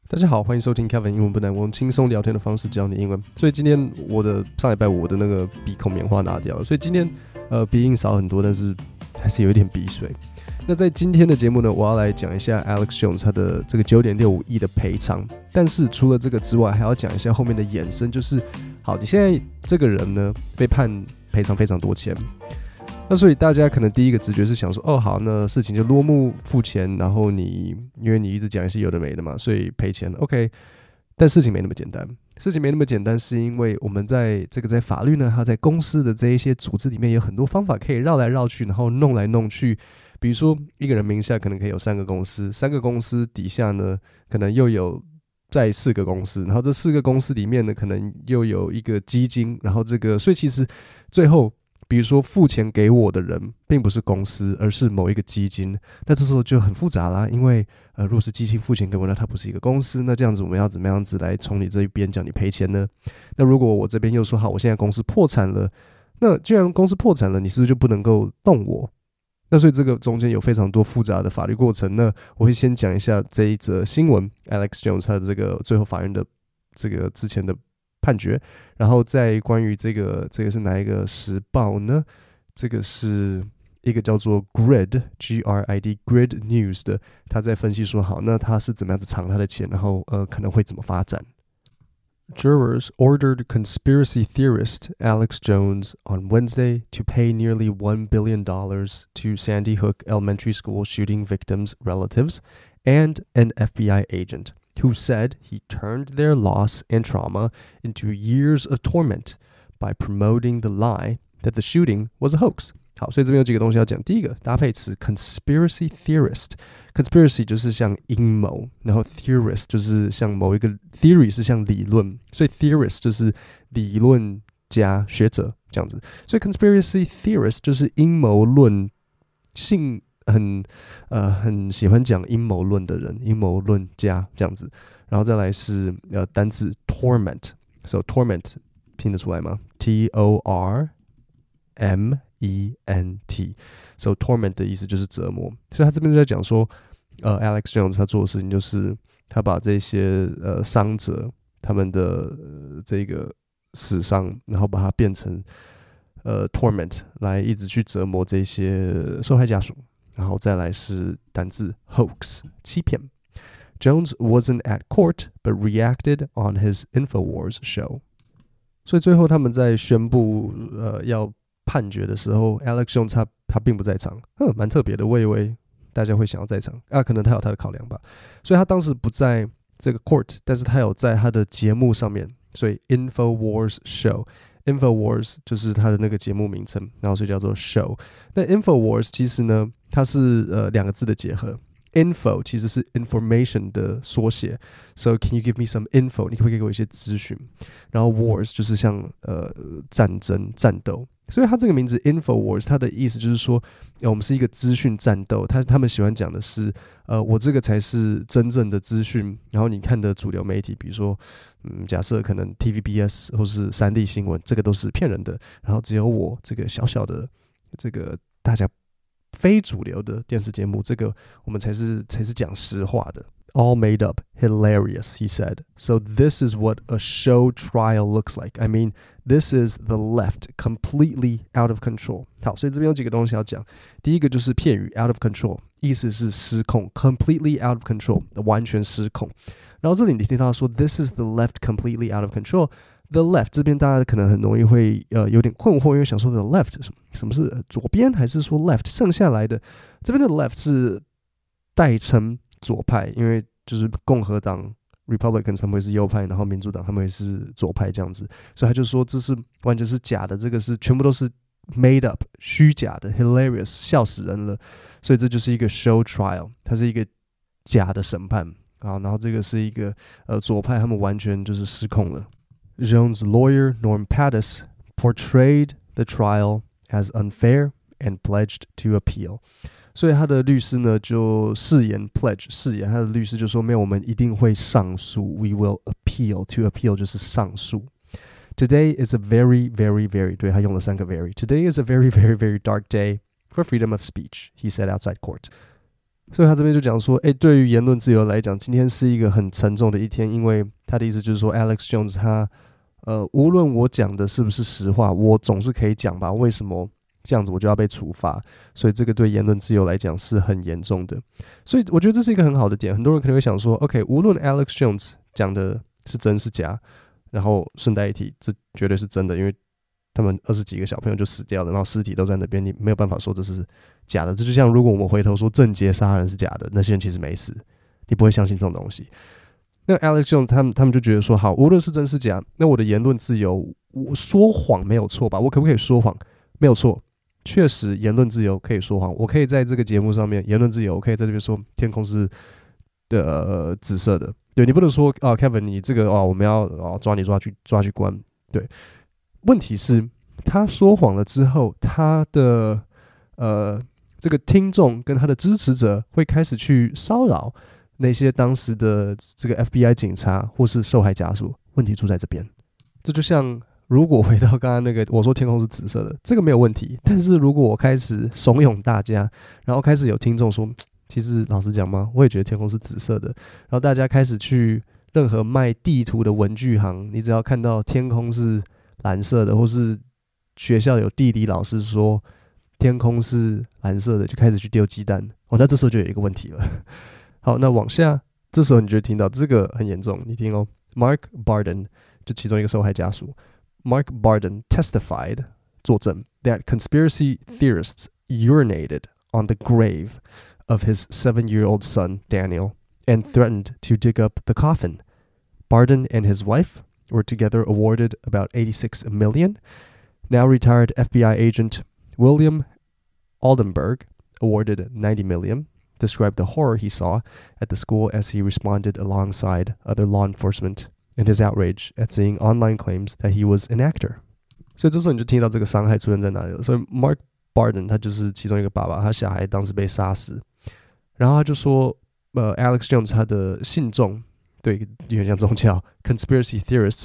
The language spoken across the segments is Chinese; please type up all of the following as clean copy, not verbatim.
大家好，欢迎收听 Kevin 英文不难，我用轻松聊天的方式教你英文。所以今天上礼拜我的那个鼻孔棉花拿掉了，所以今天鼻音少很多，但是还是有一点鼻水。那在今天的节目呢，我要来讲一下 Alex Jones 他的这个9.65亿的赔偿。但是除了这个之外，还要讲一下后面的衍生，就是好，你现在这个人呢被判赔偿非常多钱。那所以大家可能第一个直觉是想说，哦好，那事情就落幕付钱，然后因为你一直讲一些有的没的嘛，所以赔钱 OK。但事情没那么简单，事情没那么简单，是因为我们在法律呢，它在公司的这一些组织里面有很多方法可以绕来绕去，然后弄来弄去。比如说一个人名下可能可以有3个公司，3个公司底下呢可能又有在4个公司，然后这4个公司里面呢可能又有一个基金，然后所以其实最后比如说付钱给我的人并不是公司，而是某一个基金。那这时候就很复杂啦，因为如果是基金付钱给我，那它不是一个公司，那这样子我们要怎么样子来从你这一边叫你赔钱呢？那如果我这边又说好，我现在公司破产了，那既然公司破产了，你是不是就不能够动我？那所以这个中间有非常多复杂的法律过程。那我会先讲一下这一则新闻 ，Alex Jones 他的这个最后法院的这个之前的判决，然后再关于这个是哪一个时报呢？这个是一个叫做 Grid Grid News 的，他在分析说，好，那他是怎么样子藏他的钱，然后可能会怎么发展。Jurors ordered conspiracy theorist Alex Jones on Wednesday to pay nearly $1 billion to Sandy Hook Elementary School shooting victims' relatives and an FBI agent who said he turned their loss and trauma into years of torment by promoting the lie that the shooting was a hoax. 好，所以这边有几个东西要讲。第一个搭配词 conspiracy theorist。conspiracy 就是像阴谋，然后 theorist 就是像某一个 theory 是像理论，所以 theorist 就是理论家学者这样子。所以 conspiracy theorist 就是阴谋论性很喜欢讲阴谋论的人，阴谋论家这样子。然后再来是单字 torment，so torment 拼得出来吗 ？T-O-R-M-E-N-T，so torment 的意思就是折磨。所以他这边就在讲说，Alex Jones 他做的事情就是他把这些伤者他们的这个死伤，然后把它变成torment 来一直去折磨这些受害家属。然后再来是单字 hoax 欺骗。Jones wasn't at court, but reacted on his InfoWars show. 所以最后他们在宣布要判决的时候 ，Alex Jones 他并不在场，蛮特别的。我以为大家会想要在场啊，可能他有他的考量吧。所以他当时不在这个 court， 但是他有在他的节目上面，所以 InfoWars show。InfoWars 就是他的那个节目名称，然后所以叫做 show。那 InfoWars 其实呢，它是2个字的结合。Info 其实是 information 的缩写 ，So can you give me some info？ 你可不可以给我一些资讯？然后 wars 就是像战争、战斗，所以它这个名字 InfoWars 它的意思就是说，我们是一个资讯战斗。他们喜欢讲的是，我这个才是真正的资讯。然后你看的主流媒体，比如说，假设可能 TVBS 或是3立新闻，这个都是骗人的。然后只有我这个小小的这个大家非主流的电视节目，这个我们才是讲实话的。All made up, hilarious, he said. So this is what a show trial looks like. I mean, this is the left completely out of control. 好，所以这边有几个东西要讲。第一个就是片语 out of control， 意思是失控 ，completely out of control， 完全失控。然后这里你听到说 this is the left completely out of control。The left 这边大家可能很容易会有点困惑，因为想说 the left 什么是左边，还是说 left 剩下来的？这边的 left 是代称左派，因为就是共和党 Republican 他们会是右派，然后民主党他们会是左派这样子，所以他就说这是完全是假的，这个是全部都是 made up 虚假的 hilarious 笑死人了，所以这就是一个 show trial， 它是一个假的审判啊，然后这个是一个左派他们完全就是失控了。Jones' lawyer, Norm Pattis, portrayed the trial as unfair and pledged to appeal. 所以他的律师呢就誓言 pledge 誓言，他的律师就说没有，我们一定会上诉 ，We will appeal. To appeal 就是上诉。Today is a very, very, very 对，他用了3个 very. Today is a very, very, very dark day for freedom of speech, he said outside court. 所以他这边就讲说，对于言论自由来讲，今天是一个很沉重的一天，因为他的意思就是说 ，Alex Jones 他无论我讲的是不是实话，我总是可以讲吧？为什么这样子我就要被处罚？所以这个对言论自由来讲是很严重的。所以我觉得这是一个很好的点。很多人可能会想说 ，OK， 无论 Alex Jones 讲的是真是假，然后顺带一提，这绝对是真的，因为他们20几个小朋友就死掉了，然后尸体都在那边，你没有办法说这是假的。这就像如果我们回头说郑捷杀人是假的，那些人其实没死，你不会相信这种东西。那 Alex Jones 他们就觉得说，好，无论是真是假，那我的言论自由，我说谎没有错吧？我可不可以说谎？没有错，确实言论自由可以说谎。我可以在这个节目上面言论自由，我可以在这边说天空是紫色的。对，你不能说Kevin 你这个我们要抓去关。对，问题是他说谎了之后，他的这个听众跟他的支持者会开始去骚扰那些当时的这个 FBI 警察或是受害家属。问题出在这边，这就像如果回到刚刚那个我说天空是紫色的，这个没有问题。但是如果我开始怂恿大家，然后开始有听众说，其实老实讲嘛，我也觉得天空是紫色的，然后大家开始去任何卖地图的文具行，你只要看到天空是蓝色的，或是学校有地理老师说天空是蓝色的，就开始去丢鸡蛋。那这时候就有一个问题了。好，那往下，这时候你就听到这个很严重，你听哦 ，Mark Barden 就其中一个受害家属 ，Mark Barden testified 作证 that conspiracy theorists urinated on the grave of his 7-year-old son Daniel and threatened to dig up the coffin. Barden and his wife were together awarded about $86 million. Now retired FBI agent William Aldenberg, awarded $90 million, described the horror he saw at the school as he responded alongside other law enforcement in his outrage at seeing online claims that he was an actor. 所以这时候你就听到这个伤害出现在哪里了。所以 Mark Barden 他就是其中一个爸爸，他小孩当时被杀死，然后他就说Alex Jones 他的信众，对，有点像宗教 conspiracy theorists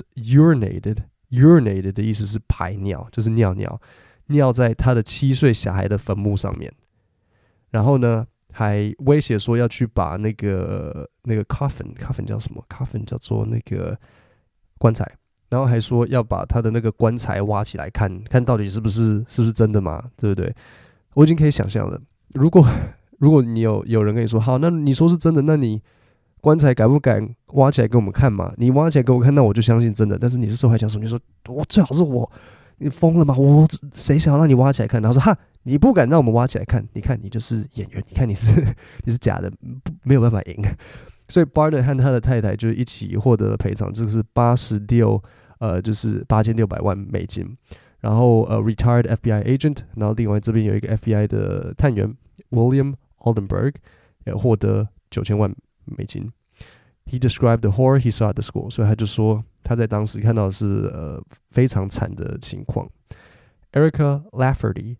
urinated 的意思是排尿，就是尿在他的7岁小孩的坟墓上面。然后呢，还威胁说要去把那个 coffin 叫什么 ？coffin 叫做那个棺材。然后还说要把他的那个棺材挖起来看到底是不是真的嘛？对不对？我已经可以想象了，如果你有人跟你说好，那你说是真的，那你棺材敢不敢挖起来给我们看嘛？你挖起来给我看，那我就相信真的。但是你是受害者，你说我最好是我，你疯了吗？我谁想要让你挖起来看？然后说哈，你不敢让我们挖起来看，你看你就是演员，你看你是假的，没有办法赢。所以 Barden 和他的太太就一起获得了赔偿，这个是就是$8600万。然后retired FBI agent， 然后另外这边有一个 FBI 的探员 William Aldenberg 也获得$9000万。He described the horror he saw at the school， 所以他就说他在当时看到的是非常惨的情况。Erica Lafferty,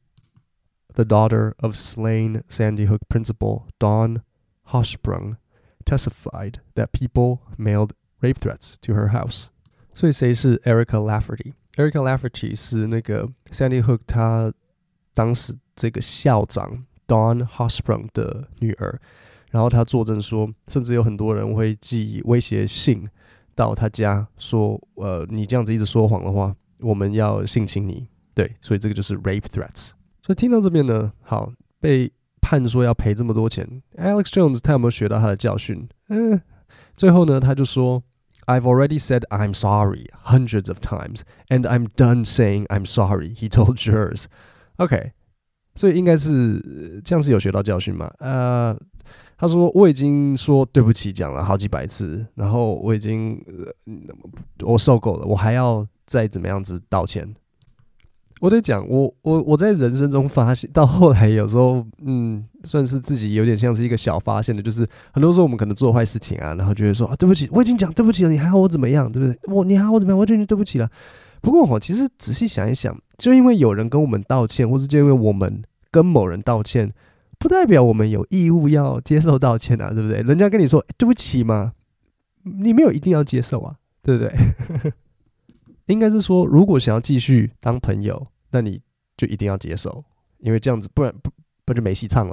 the daughter of slain Sandy Hook principal Dawn Hochsprung, testified that people mailed rape threats to her house. 所以谁是 Erica Lafferty？Erica Lafferty 是那个 Sandy Hook 他当时这个校长 Dawn Hochsprung 的女儿，然后他作证说，甚至有很多人会寄威胁信到他家，说你这样子一直说谎的话，我们要性侵你。对，所以这个就是 rape threats。所以听到这边呢，好，被判说要赔这么多钱 ，Alex Jones 他有没有学到他的教训？最后呢，他就说，I've already said I'm sorry hundreds of times, and I'm done saying I'm sorry, he told jurors. OK， 所以应该是这样是有学到教训嘛？他说我已经说对不起讲了好几百次，然后我已经我受够了，我还要再怎么样子道歉？我得讲，我在人生中发现，到后来有时候，算是自己有点像是一个小发现的，就是很多时候我们可能做坏事情啊，然后觉得说对不起，我已经讲对不起了，你还好我怎么样，对不对？你还好我怎么样？我觉得你对不起了。不过其实仔细想一想，就因为有人跟我们道歉，或是就因为我们跟某人道歉，不代表我们有义务要接受道歉啊，对不对？人家跟你说对不起嘛，你没有一定要接受啊，对不对？应该是说，如果想要继续当朋友，那你就一定要接受，因为这样子不然就没戏唱啦。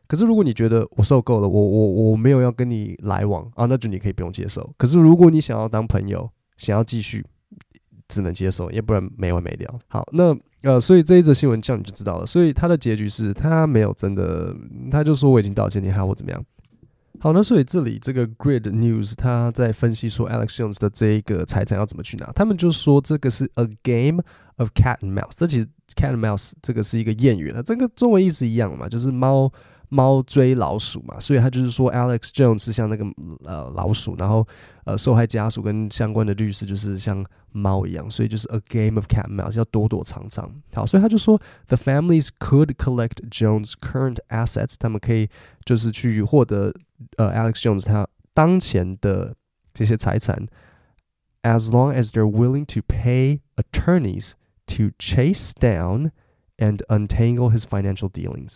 可是如果你觉得我受够了，我没有要跟你来往啊，那就你可以不用接受。可是如果你想要当朋友，想要继续，只能接受，要不然没完没了。好，那所以这一则新闻这样你就知道了。所以他的结局是他没有真的，他就说我已经道歉，你还要我怎么样？好，那所以这里这个 Grid News 他在分析说 Alex Jones 的这一个财产要怎么去拿，他们就说这个是 a game of cat and mouse， 这其实 cat and mouse 这个是一个谚语了，这个中文意思一样嘛，就是猫追老鼠嘛，所以他就是说 Alex Jones 是像那个老鼠，然后受害家属跟相关的律师就是像猫一样，所以就是 a game of cat and mouse， 要躲躲藏藏。好，所以他就说 the families could collect Jones' current assets， 他们可以就是去获得Alex Jones 他当前的这些财产 ，as long as they're willing to pay attorneys to chase down and untangle his financial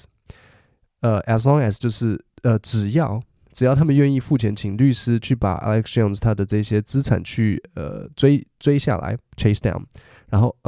dealings。as long as 就是只要他们愿意付钱请律师去把 Alex Jones 他的这些资产去追下来 chase down， 然后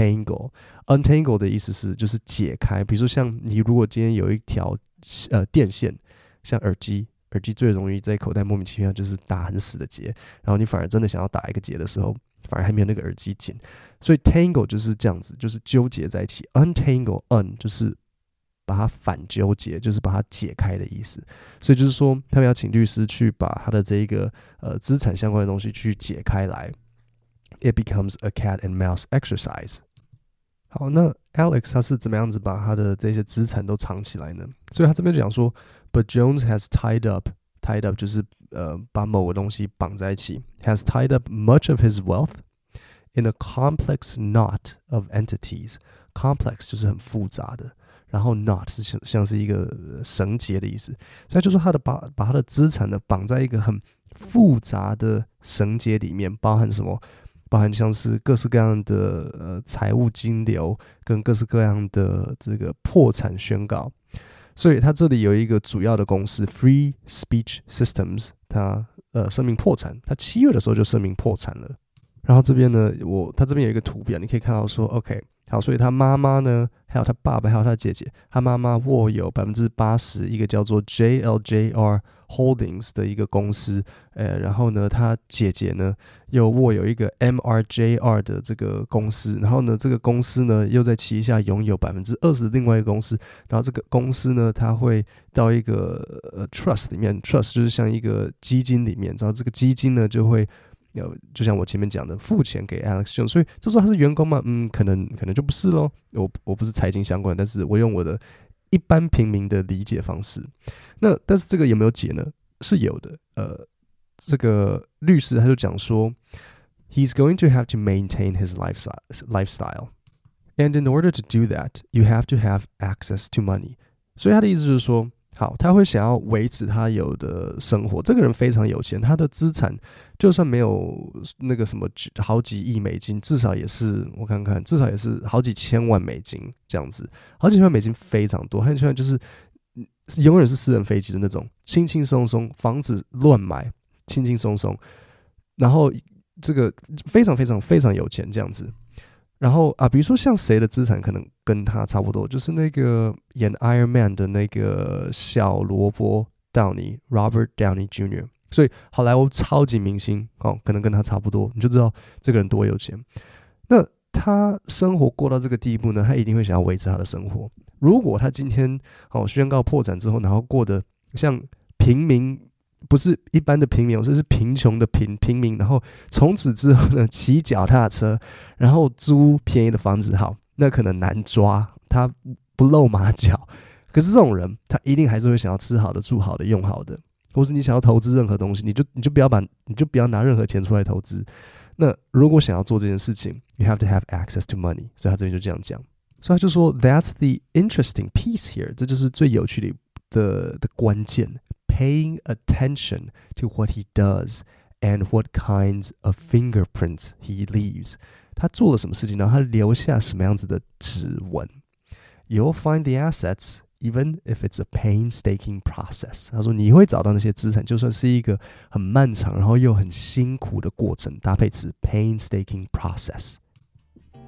untangle 的意思是就是解开，比如说像你如果今天有一条电线，像耳机最容易在口袋莫名其妙就是打很死的结，然后你反而真的想要打一个结的时候，反而还没有那个耳机紧，所以 tangle 就是这样子，就是纠结在一起。untangle 就是把它反纠结，就是把它解开的意思。所以就是说，他们要请律师去把他的这一个资产相关的东西去解开来。It becomes a cat and mouse exercise。好，那 Alex 他是怎么样子把他的这些资产都藏起来呢？所以他这边就讲说 ，But Jones has tied up 就是把某个东西绑在一起 ，has tied up much of his wealth in a complex knot of entities。complex 就是很复杂的。然后 knot 是像是一个绳结的意思，所以就说他的把他的资产呢绑在一个很复杂的绳结里面，包含什么？包含像是各式各样的财务金流跟各式各样的这个破产宣告。所以他这里有一个主要的公司 Free Speech Systems， 他声明破产，他7月的时候就声明破产了。然后这边呢，他这边有一个图表，你可以看到说 OK。好，所以他妈妈呢，还有他爸爸，还有他姐姐，他妈妈握有80%一个叫做 JLJR Holdings 的一个公司，然后呢，他姐姐呢又握有一个 MRJR 的这个公司，然后呢，这个公司呢又在旗下拥有20%的另外一个公司，然后这个公司呢，它会到一个trust 里面 ，trust 就是像一个基金里面，然后这个基金呢就会。就像我前面讲的，付钱给 Alex Jones， 所以这时候他是员工吗？可能就不是咯。我不是财经相关，但是我用我的一般平民的理解方式。那但是这个有没有解呢？是有的。这个律师他就讲说 ，He's going to have to maintain his lifestyle, and in order to do that, you have to have access to money。所以他的意思就是说。好，他会想要维持他有的生活。这个人非常有钱，他的资产就算没有那个什么好几亿美金，至少也是我看看，至少也是好几千万美金这样子。好几千万美金非常多，好几千万就是永远是私人飞机的那种，轻轻松松，房子乱买，轻轻松松，然后这个非常非常非常有钱这样子。然后比如说像谁的资产可能跟他差不多，就是那个演 Iron Man 的那个小罗伯 Downey Robert Downey Jr.， 所以好莱坞超级明星可能跟他差不多，你就知道这个人多有钱。那他生活过到这个地步呢，他一定会想要维持他的生活。如果他今天宣告破产之后，然后过得像平民。不是一般的平民，这是贫穷的平民。然后从此之后呢，骑脚踏车，然后租便宜的房子，好，那可能难抓，他不露马脚。可是这种人，他一定还是会想要吃好的、住好的、用好的，或是你想要投资任何东西，你就不要拿任何钱出来投资。那如果想要做这件事情 ，you have to have access to money。所以他这边就这样讲，所以他就说 ，That's the interesting piece here， 这就是最有趣的关键。Paying attention to what he does and what kinds of fingerprints he leaves， 他做了什么事情，然后他留下什么样子的指纹。You'll find the assets even if it's a painstaking process。他说你会找到那些资产，就算是一个很漫长然后又很辛苦的过程。搭配词 painstaking process。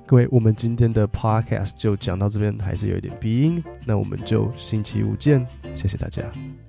各位，我们今天的 podcast 就讲到这边，还是有一点鼻音，那我们就星期五见，谢谢大家。